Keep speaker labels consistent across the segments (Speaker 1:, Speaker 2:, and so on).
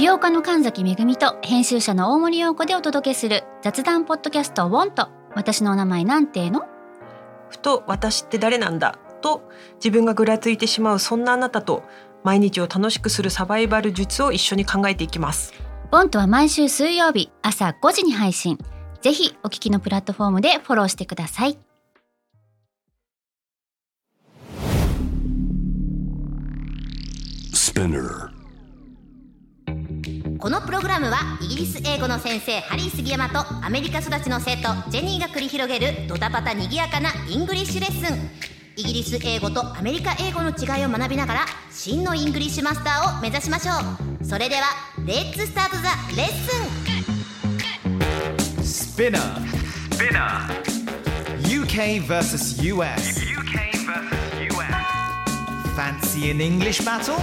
Speaker 1: 美容家の神崎めぐみと編集者の大森洋子でお届けする雑談ポッドキャストウォンと私のお名前なんての。
Speaker 2: ふと私って誰なんだと自分がぐらついてしまうそんなあなたと毎日を楽しくするサバイバル術を一緒に考えていきます。
Speaker 1: ウォンとは毎週水曜日朝5時に配信。ぜひお聞きのプラットフォームでフォローしてください。
Speaker 3: このプログラムはイギリス英語の先生ハリー杉山とアメリカ育ちの生徒ジェニーが繰り広げるドタパタにぎやかなイングリッシュレッスン。イギリス英語とアメリカ英語の違いを学びながら真のイングリッシュマスターを目指しましょう。それではレッツスタートザレッスン。
Speaker 4: Spinner UK vs US Fancy an English battle?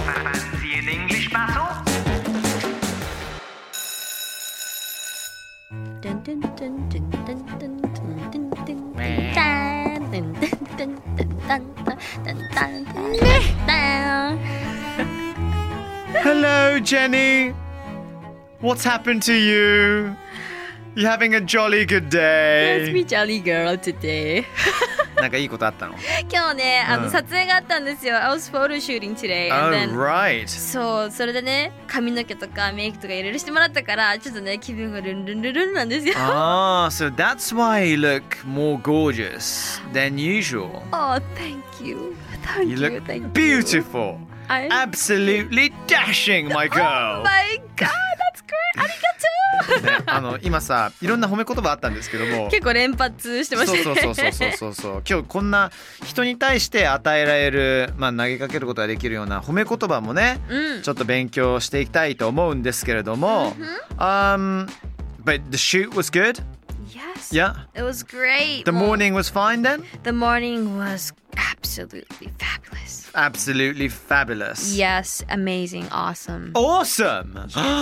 Speaker 4: Hello, Jenny. What's happened to you? You having a jolly good day?
Speaker 5: Let's be jolly girl today.
Speaker 4: なんかいいことあったの？
Speaker 5: 今日ね、撮影があったんですよ。I was photo shooting today.
Speaker 4: Oh,
Speaker 5: and then,
Speaker 4: right.
Speaker 5: そう、それでね、髪の毛とかメイクとかいろいろしてもらったから、ちょっとね、気分がルンルンルンルンなんですよ。
Speaker 4: Ah, so that's why you look more gorgeous than usual.
Speaker 5: Oh, thank you. Thank
Speaker 4: You look
Speaker 5: thank you.
Speaker 4: beautiful. Absolutely dashing, my girl.
Speaker 5: Oh my god, that's great. ありがとう。
Speaker 4: ね、今さいろんな褒め言葉あったんですけども
Speaker 5: 結構連発してましたね。
Speaker 4: そう今日こんな人に対して与えられる、投げかけることができるような褒め言葉もね、ちょっと勉強していきたいと思うんですけれども、But the shoot was good?
Speaker 5: Yes.
Speaker 4: Yeah.
Speaker 5: It was great.
Speaker 4: The morning was fine then?
Speaker 5: The morning was absolutely fabulous.
Speaker 4: Absolutely fabulous.
Speaker 5: Yes, amazing, awesome.
Speaker 4: Awesome!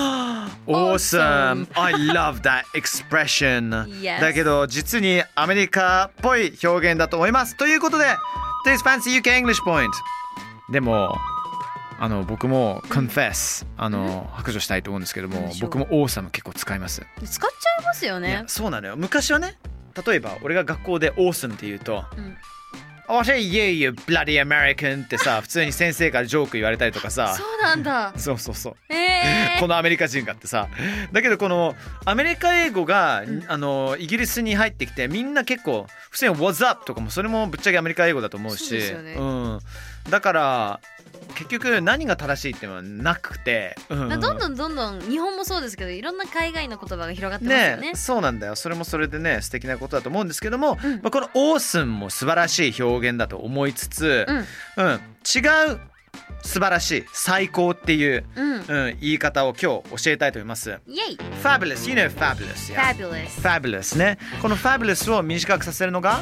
Speaker 4: Awesome! I love that expression.
Speaker 5: Yes.
Speaker 4: だけど実にアメリカっぽい表現だと思います。ということで Today's Fancy UK English Point. でも僕も confess 白状したいと思うんですけども、僕も awesome 結構使います。
Speaker 5: 使っちゃいますよね。
Speaker 4: そうなのよ。昔はね、例えば俺が学校で awesome って言うと、I say you bloody American ってさ、普通に先生からジョーク言われたりとかさ。
Speaker 5: そうなんだ。
Speaker 4: そう。このアメリカ人がってさ。だけどこのアメリカ英語が、イギリスに入ってきてみんな結構普通に What's up とかもそれもぶっちゃけアメリカ英語だと思うし。
Speaker 5: そうですよね。
Speaker 4: だから結局何が正しいっていうのはなくて、ど
Speaker 5: んどん日本もそうですけどいろんな海外の言葉が広がってますよね。
Speaker 4: そうなんだよ。それもそれでね素敵なことだと思うんですけども、この awesome も素晴らしい表現だと思いつつ、違う素晴らしい最高っていう、言い方を今日教えたいと思います。
Speaker 5: イエイ
Speaker 4: Fabulous, you know fabulous, yeah? Fabulous ね。この fabulous を短くさせるのが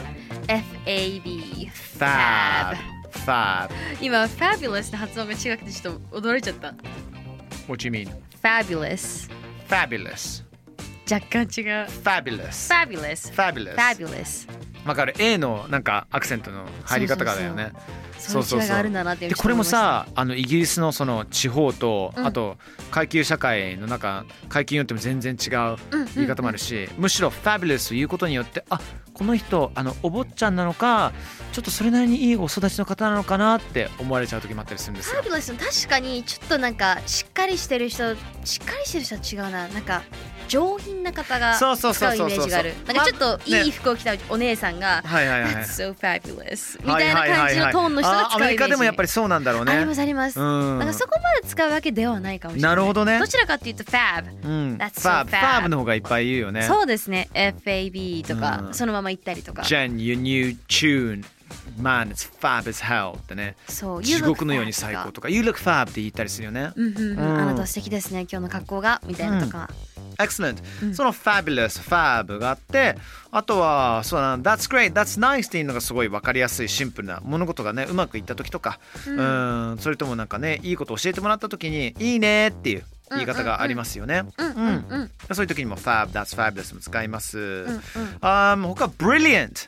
Speaker 5: FAB
Speaker 4: Fab
Speaker 5: 今 fabulous の発音が違くてちょっと驚いちゃった。
Speaker 4: What do you mean?
Speaker 5: Fabulous 若干違う。 Fabulous わ
Speaker 4: かる。 A のなんかアクセントの入り方がだよね。
Speaker 5: そういう違いがあるんだなって。
Speaker 4: でこれもさイギリスのその地方と、あと階級社会の中階級によっても全然違う言い方もあるし、むしろ fabulous を言うことによってこの人お坊ちゃんなのかちょっとそれなりにいいお育ちの方なのかなって思われちゃう時もあったりするんですよ。
Speaker 5: Fabulous 確かにちょっとなんかしっかりしてる人は違うな。なんか上品な方が使うイメージがある。なんかちょっといい服を着たお姉さんが That's so fabulous みたいな感じのトーンの人が使うイメージ。アメリカでもやっぱりそうなんだろうね。ありますなんかそこまで使うわけではないかもしれない。
Speaker 4: なるほどね。
Speaker 5: どちらかっていうと Fab、That's so
Speaker 4: fab の方がいっぱい言うよね。
Speaker 5: そうですね。 FAB とか、そのまま言ったりとか
Speaker 4: Jen, your new tune Man, it's fab as hell ってね。
Speaker 5: そう、
Speaker 4: 地獄のように最高とか You look fab って言ったりするよね。
Speaker 5: あなた素敵ですね今日の格好がみたいなとか。
Speaker 4: Excellent、その fabulous fab があって、あとはそうだな That's great, that's nice っていうのがすごい分かりやすいシンプルな物事がねうまくいった時とか、それともなんかねいいことを教えてもらった時にいいねっていう言い方がありますよね。そういう時にも fab, that's fabulous も使います。他 brilliant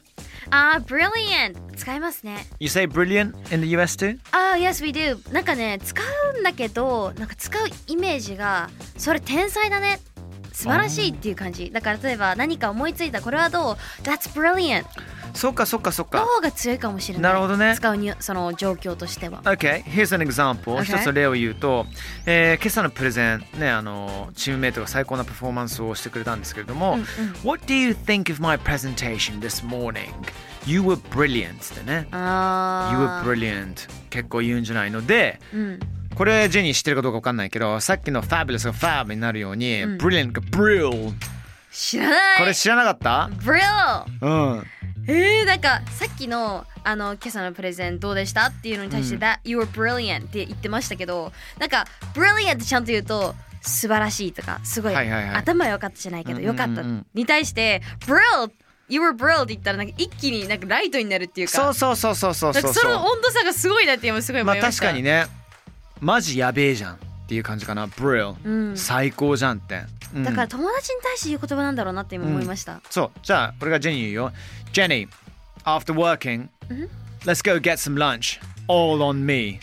Speaker 5: brilliant 使いますね。
Speaker 4: You say brilliant in the US too?
Speaker 5: Yes we do なんかね使うんだけどなんか使うイメージがそれ天才だね素晴らしいっていう感じだから例えば何か思いついたこれはどう That's brilliant
Speaker 4: そっかそっかそっか
Speaker 5: の方が強いかもしれない。
Speaker 4: なるほどね。
Speaker 5: 使うにその状況としては。
Speaker 4: Okay, here's an example、一つ例を言うと、今朝のプレゼンねチームメイトが最高なパフォーマンスをしてくれたんですけれども、What do you think of my presentation this morning? You were brilliant ってね。You were brilliant 結構言うんじゃないので、これジェニー知ってるかどうか分かんないけどさっきの fabulous が fab になるように、brilliant が brill
Speaker 5: 知らない。
Speaker 4: これ知らなかった？
Speaker 5: brill なんかさっきの今朝のプレゼンどうでしたっていうのに対して、That you were brilliant って言ってましたけどなんか brilliant ってちゃんと言うと素晴らしいとかすごい、頭良かったじゃないけど良かったに対してbrill You were brill って言ったらなんか一気になんかライトになるっていうか
Speaker 4: そうその
Speaker 5: 温度差がすごいなって今すごい思いました。
Speaker 4: 確かにねマジやべえじゃんっていう感じかな brill、最高じゃんって、
Speaker 5: だから友達に対して言う言葉なんだろうなって今思いました、
Speaker 4: そうじゃあ俺がジェニー言うよ Jenny after working、let's go get some lunch all on me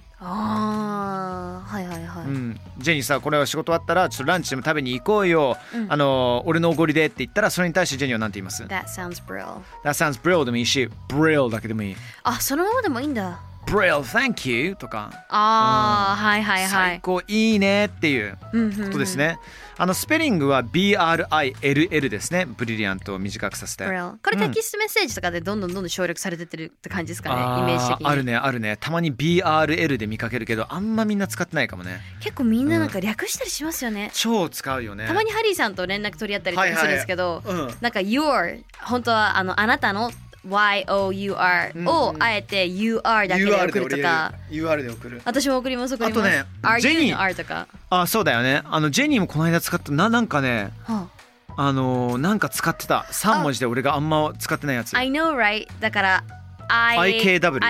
Speaker 5: はいはいはい、
Speaker 4: ジェニーさこれは仕事終わったらちょっとランチでも食べに行こうよ、俺のおごりでって言ったらそれに対してジェニーは何て言います？
Speaker 5: That sounds brill
Speaker 4: That sounds brill でもいいし brill だけでもいい。
Speaker 5: そのままでもいいんだ。
Speaker 4: brill thank you とか
Speaker 5: はいはいはい
Speaker 4: 最高いいねっていうことですね。スペリングは BRILL ですね。ブリリアントを短くさせて。
Speaker 5: これテキストメッセージとかでどんどん省略されてってるって感じですかね、イメージ的に。
Speaker 4: あるねたまに BRL で見かけるけどあんまみんな使ってないかもね。
Speaker 5: 結構みんななんか略したりしますよね、
Speaker 4: 超使うよね。
Speaker 5: たまにハリーさんと連絡取り合ったりとかするんですけど、なんか your 本当はあなたのYOUR をあえて UR だけで送るとか、
Speaker 4: UR で送る。
Speaker 5: 私も送ります。あと
Speaker 4: ね、
Speaker 5: ジェニー R とか。
Speaker 4: そうだよね。ジェニーもこの間使ったなんかね、なんか使ってた3文字で俺があんま使ってないやつ。
Speaker 5: I know right だから
Speaker 4: IKW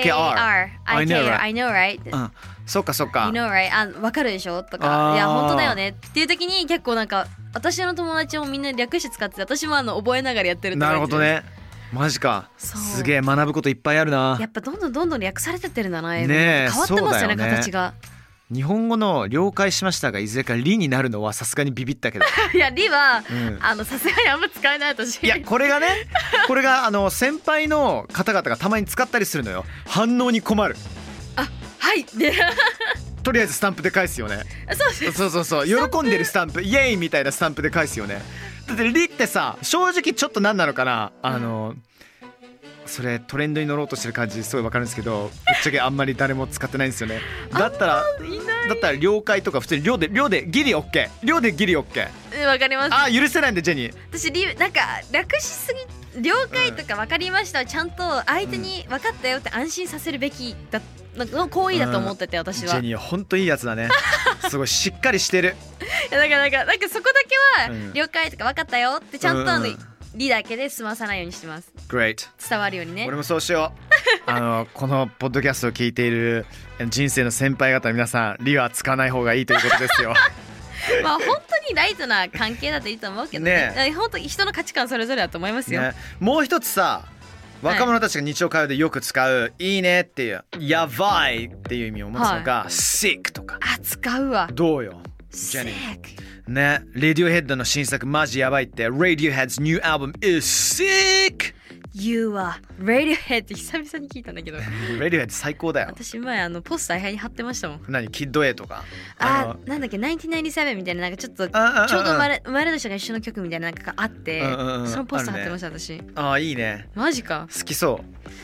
Speaker 5: IKR I know right
Speaker 4: そっかそっか
Speaker 5: You know right わかるでしょとかいや本当だよねっていう時に結構なんか私の友達もみんな略して使ってて私も覚えながらやってるって感じ。
Speaker 4: なるほどね。マジか。すげえ学ぶこといっぱいあるな。
Speaker 5: やっぱどんどん略されてってるんだな。ねえ変わってますよね形が。
Speaker 4: 日本語の了解しましたがいずれかリになるのはさすがにビビったけど
Speaker 5: いやリはさすがにあんま使えない私。
Speaker 4: いやこれが先輩の方々がたまに使ったりするのよ。反応に困る。
Speaker 5: はいで
Speaker 4: とりあえずスタンプで返すよね。そう喜んでるスタンプイエーイみたいなスタンプで返すよね。だってリってさ正直ちょっと何なのかなそれトレンドに乗ろうとしてる感じすごい分かるんですけどぶっちゃけあんまり誰も使ってないんですよね。だったら了解とか普通に量でギリ OK 量でギリ OK
Speaker 5: わかります。
Speaker 4: 許せないんでジェニー。
Speaker 5: 私なんか略しすぎ了解とか分かりました、ちゃんと相手に分かったよって安心させるべきだの行為だと思ってて私は。
Speaker 4: ジェニーは本当いいやつだねすごいしっかりしてる。
Speaker 5: いやなんかそこだけは了解とか分かったよってちゃんとリだけで済まさないようにしてます。
Speaker 4: Great
Speaker 5: 伝わるようにね。
Speaker 4: 俺もそうしようこのポッドキャストを聞いている人生の先輩方皆さんリは使わない方がいいということですよ
Speaker 5: まあ本当にライトな関係だといいと思うけどね。本当人の価値観それぞれだと思いますよ、
Speaker 4: もう一つさ若者たちが日常会話でよく使う、いいねっていうやばいっていう意味を持つのが、sick とか。
Speaker 5: 使うわ。
Speaker 4: どうよジェニー。ね、Radiohead の新作マジやばいって。 Radiohead's new album is sick。
Speaker 5: You は Radiohead って久々に聞いたんだけど
Speaker 4: Radiohead 最高だよ。
Speaker 5: 私前ポスター部屋に貼ってましたもん。
Speaker 4: 何キッド A とか
Speaker 5: なんだっけ1997みたいななんかちょっとちょうど生まれ年が一緒の曲みたいななんかがあって、そのポスター貼ってました私。
Speaker 4: いいね。
Speaker 5: マジか。
Speaker 4: 好きそう。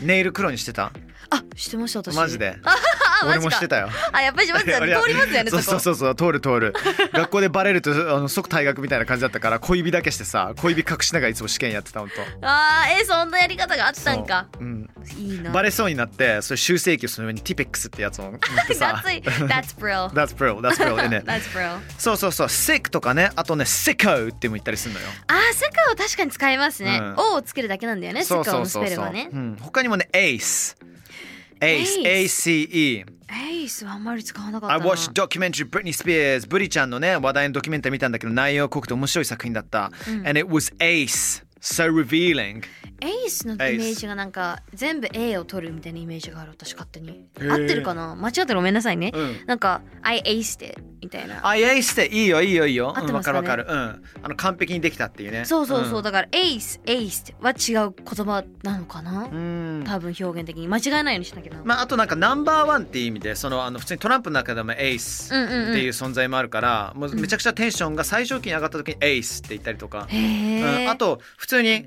Speaker 4: ネイル黒にしてた？
Speaker 5: してました私。
Speaker 4: マジで俺もしてたよ。
Speaker 5: やっぱり通りますよね。
Speaker 4: そう通る学校でバレると即退学みたいな感じだったから小指だけしてさ小指隠しながらいつも試験やってた。本当
Speaker 5: そんなやり方があったんか。いいな。
Speaker 4: バレそうになってそれ修正器をその上にティペックスってやつを塗ってさ
Speaker 5: That's brill
Speaker 4: That's brill That's
Speaker 5: brill
Speaker 4: そうsick とかね。あとね sicko っても言ったりするのよ。
Speaker 5: sicko 確かに使えますね。O をつけるだけなんだよね。sicko のスペルはね。
Speaker 4: 他にもね ACE
Speaker 5: ACE はあんまり使わなかったな。
Speaker 4: I watched documentary Britney Spears ブリちゃんのね話題のドキュメンタリー見たんだけど内容濃くて面白い作品だった、and it was ACE So revealing.
Speaker 5: エースのイメージがなんか全部 A を取るみたいなイメージがある私勝手に。合ってるかな？間違ってるごめんなさいね。なんか I aced it みたいな。
Speaker 4: I aced it いいよいいよいいよ。
Speaker 5: 合ってますかね？
Speaker 4: わかるわかる。完璧にできたっていうね。
Speaker 5: そうそうそう、だから aced は違う言葉なのかな？多分表現的に間違えないようにしなきゃな。
Speaker 4: まああとなんかナンバーワンっていう意味で普通にトランプの中でもエースっていう存在もあるから、もうめちゃくちゃテンションが最上級に上がった時にエースって言ったりとか。あと普通に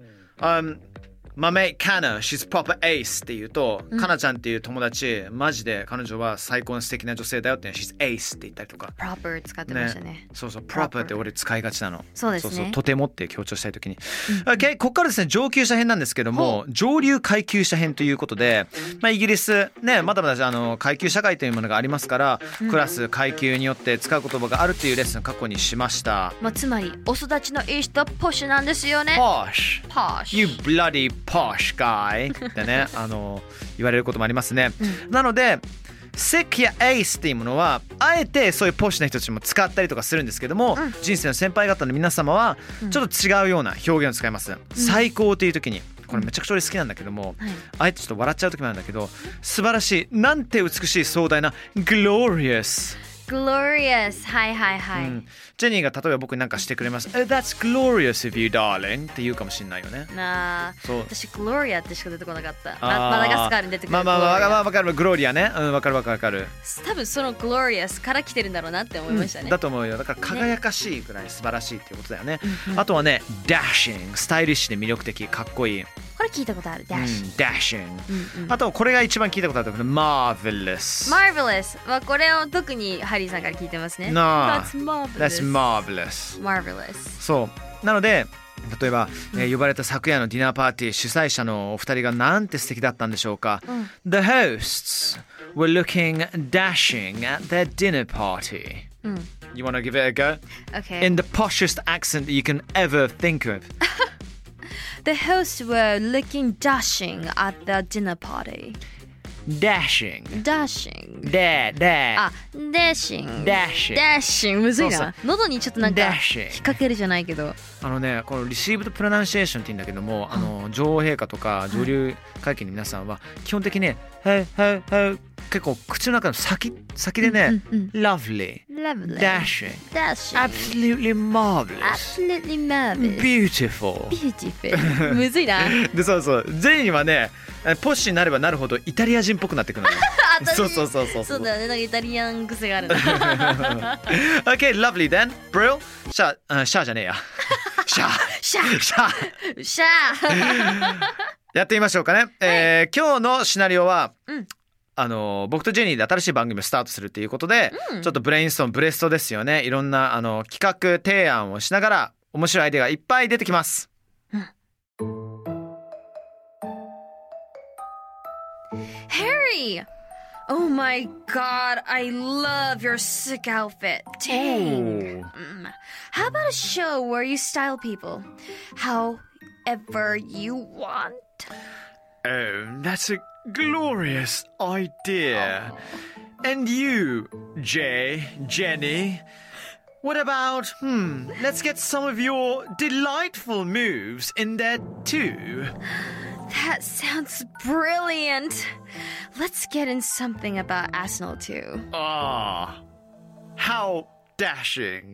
Speaker 4: My mate Kana, she's proper ace って言うと、カナちゃんっていう友達、マジで彼女は最高の素敵な女性だよって、she's ace って言ったりとか。
Speaker 5: proper 使ってましたね。
Speaker 4: そうそう、proper って俺使いがちなの。
Speaker 5: そうですね。
Speaker 4: そうそう、とてもって強調したいときに。Okay、ここからですね、上級者編なんですけども、上流階級者編ということで、まあイギリスね、まだまだ階級社会というものがありますから、クラス階級によって使う言葉があるっていうレッスン過去にしました。
Speaker 5: まあつまりお育ちのいい人ポッシュなんですよね。
Speaker 4: posh You bloody posh guy ってね言われることもありますね、なのでsick や ace っていうものはあえてそういうポッシュな人たちも使ったりとかするんですけども、人生の先輩方の皆様はちょっと違うような表現を使います、最高という時にこれめちゃくちゃ俺好きなんだけども、あえてちょっと笑っちゃう時もあるんだけど、素晴らしい、なんて美しい壮大な glorious
Speaker 5: glorious はいはいはい、
Speaker 4: ジェニーが例えば僕に何かしてくれます。That's glorious of you, darling って言うかもしれないよね。
Speaker 5: なあ、
Speaker 4: そう
Speaker 5: 私 Gloria ってしか出てこなかった。マダガスカールに出てくる。
Speaker 4: まあわかる、グローリアね。わかるわかる。
Speaker 5: 多分その glorious から来てるんだろうなって思いましたね。
Speaker 4: だと思うよ。だから輝かしいぐらい素晴らしいっていうことだよね。あとはね、dashing スタイリッシュで魅力的、かっこいい。
Speaker 5: これ聞いたことある。
Speaker 4: dashing。あとこれが一番聞いたことあるけど marvelous。
Speaker 5: marvelous はこれを特にハリーさんから聞いてますね。
Speaker 4: That's
Speaker 5: marvelous。
Speaker 4: marvelous。そう。なので例えば、呼ばれた昨夜のディナーパーティー主催者のお二人がなんて素敵だったんでしょうか。The hosts were looking dashing at their dinner party. You want to give it a go?
Speaker 5: Okay.
Speaker 4: In the poshest accent that you can ever think of.
Speaker 5: The hosts were looking dashing at the dinner party.
Speaker 4: Dashing.
Speaker 5: Dashing.
Speaker 4: Dashing.
Speaker 5: あ、dashing.
Speaker 4: Dashing.
Speaker 5: Dashing むずいな。
Speaker 4: そう
Speaker 5: 喉にちょっとなんか引っ掛けるじゃないけど。
Speaker 4: このリシーブドプロナンシエーションって言うんだけども、女王陛下とか上流階級の皆さんは基本的にね、結構口の中の先でね、lovely, dashing, absolutely marvelous, beautiful,
Speaker 5: むずいな。
Speaker 4: でそうジェニーはね、ポッシュになればなるほどイタリア人っぽくなってくるのよ。そう
Speaker 5: だよね、なんかイタリアン癖があるな。
Speaker 4: Okay, lovely then, Brill. シャーじゃねえや。シャーやってみましょうかね。今日のシナリオは、僕とジェニーで新しい番組をスタートするということで、ちょっとブレストですよね。いろんな企画提案をしながら面白いアイデアがいっぱい出てきます。
Speaker 5: Harry! Oh my god, I love your sick outfit. Dang. How about a show where you style people however you want?
Speaker 4: Oh, that's a glorious idea. And you, Jenny, what about, let's get some of your delightful moves in there too.
Speaker 5: That sounds brilliant. Let's get in something about Arsenal too.
Speaker 4: How dashing.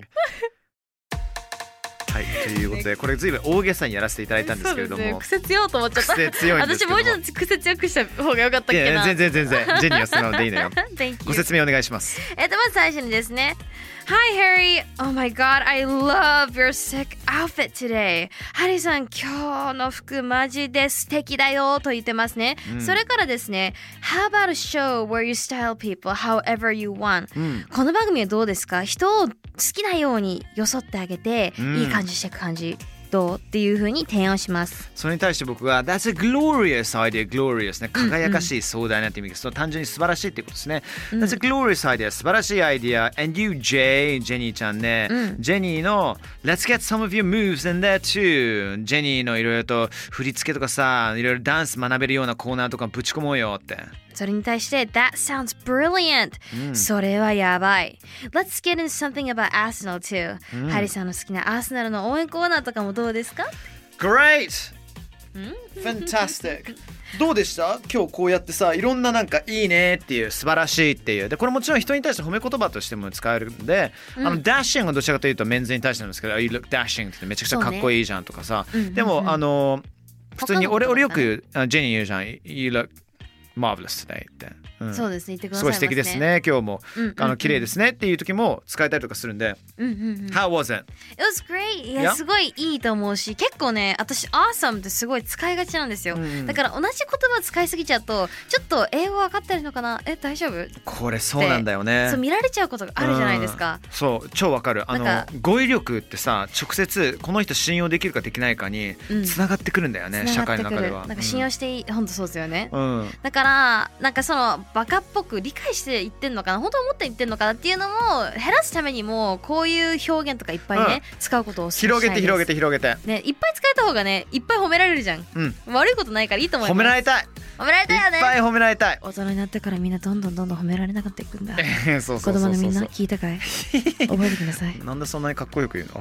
Speaker 4: はい、ということでこれずいぶん大げさにやらせていただいたんですけれども、
Speaker 5: ね、癖強いと思っちゃった。
Speaker 4: 癖強いんですけども、
Speaker 5: 私もうちょっと癖強くした方が良かったっけな。
Speaker 4: 全然ジェニーは素直でいいのよ。ご説明お願いします。
Speaker 5: まず最初にですね、Hi Harry, oh my god, I love your sick outfit today. ハリーさん、今日の服マジで素敵だよと言ってますね。それからですね、How about a show where you style people however you want、この番組はどうですか？人を好きなように装ってあげて、いい感じしていく感じ。どうっていう風に提案します。
Speaker 4: それに対して僕は That's a glorious idea, glorious ね、輝かしい壮大なって意味です。単純に素晴らしいってことですね。That's a glorious idea 素晴らしいアイディア。And you Jay ジェニーちゃんね、ジェニーの Let's get some of your moves in there too。ジェニーのいろいろと振り付けとかさ、いろいろダンス学べるようなコーナーとかぶち込もうよって。
Speaker 5: それに対して That sounds brilliant、それはやばい。 Let's get in something about Arsenal too、ハリーさんの好きなアーセナルの応援コーナーとかもどうですか？
Speaker 4: Great! Fantastic! どうでした？今日こうやってさ、いろんななんかいいねっていう素晴らしいっていうで、これもちろん人に対して褒め言葉としても使えるんで、dashing はどちらかというとメンズに対してなんですけど、You look dashing ってめちゃくちゃかっこいいじゃんとかさ、でも普通に俺よくジェニー言うじゃん、You look marvelous today って、
Speaker 5: そうですね、言ってくださいますね。
Speaker 4: すごい素敵ですね今日も、綺麗ですねっていう時も使えたりとかするんで、How was it?
Speaker 5: It was great! いや、すごいいいと思うし、結構ね、私 awesome ってすごい使いがちなんですよ、だから同じ言葉使いすぎちゃうとちょっと英語分かってるのかな、大丈夫？
Speaker 4: これそうなんだよね。
Speaker 5: そう見られちゃうことがあるじゃないですか。
Speaker 4: そう超わかる。語彙力ってさ、直接この人信用できるかできないかにつながってくるんだよね、社会の中では。
Speaker 5: なんか信用していい、本当そうですよね、だからなんかそのバカっぽく理解して言ってんのかな、本当思って言ってんのかなっていうのも減らすためにも、こういう表現とかいっぱいね、使うことを
Speaker 4: 広げて広げて広げて
Speaker 5: ね、いっぱい使えた方がね、いっぱい褒められるじゃん、悪いことないからいいと思います。
Speaker 4: 褒められたい、
Speaker 5: 褒められたいよね。
Speaker 4: いっぱい褒められたい。
Speaker 5: 大人になってからみんなどんどん褒められなくなっていくんだ。
Speaker 4: そう
Speaker 5: 子供のみんな聞いたかい？覚えてください。
Speaker 4: なんでそんなにかっこよく言うの？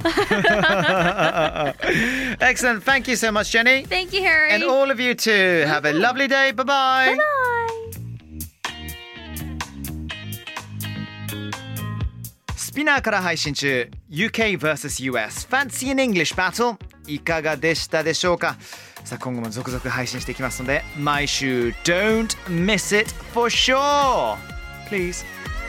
Speaker 4: Excellent. Thank you so much, Jenny.
Speaker 5: Thank you, Harry.
Speaker 4: And all of you too. Have a lovely day. Bye bye.
Speaker 5: Bye bye.
Speaker 4: スピナーから配信中 UK vs.US Fancy in English Battle いかがでしたでしょうか。さあ今後も続々配信していきますので、毎週 Don't miss it for sure Please。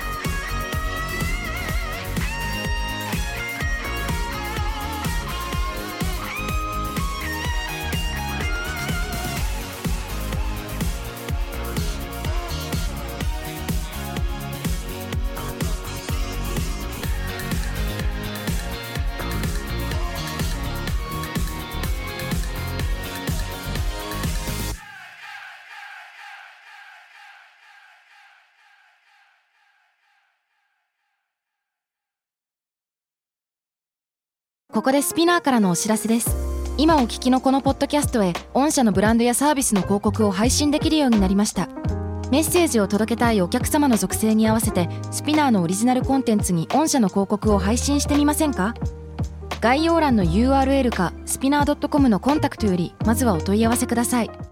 Speaker 6: ここでスピナーからのお知らせです。今お聞きのこのポッドキャストへ御社のブランドやサービスの広告を配信できるようになりました。メッセージを届けたいお客様の属性に合わせてスピナーのオリジナルコンテンツに御社の広告を配信してみませんか？概要欄の URL かスピナー .com のコンタクトよりまずはお問い合わせください。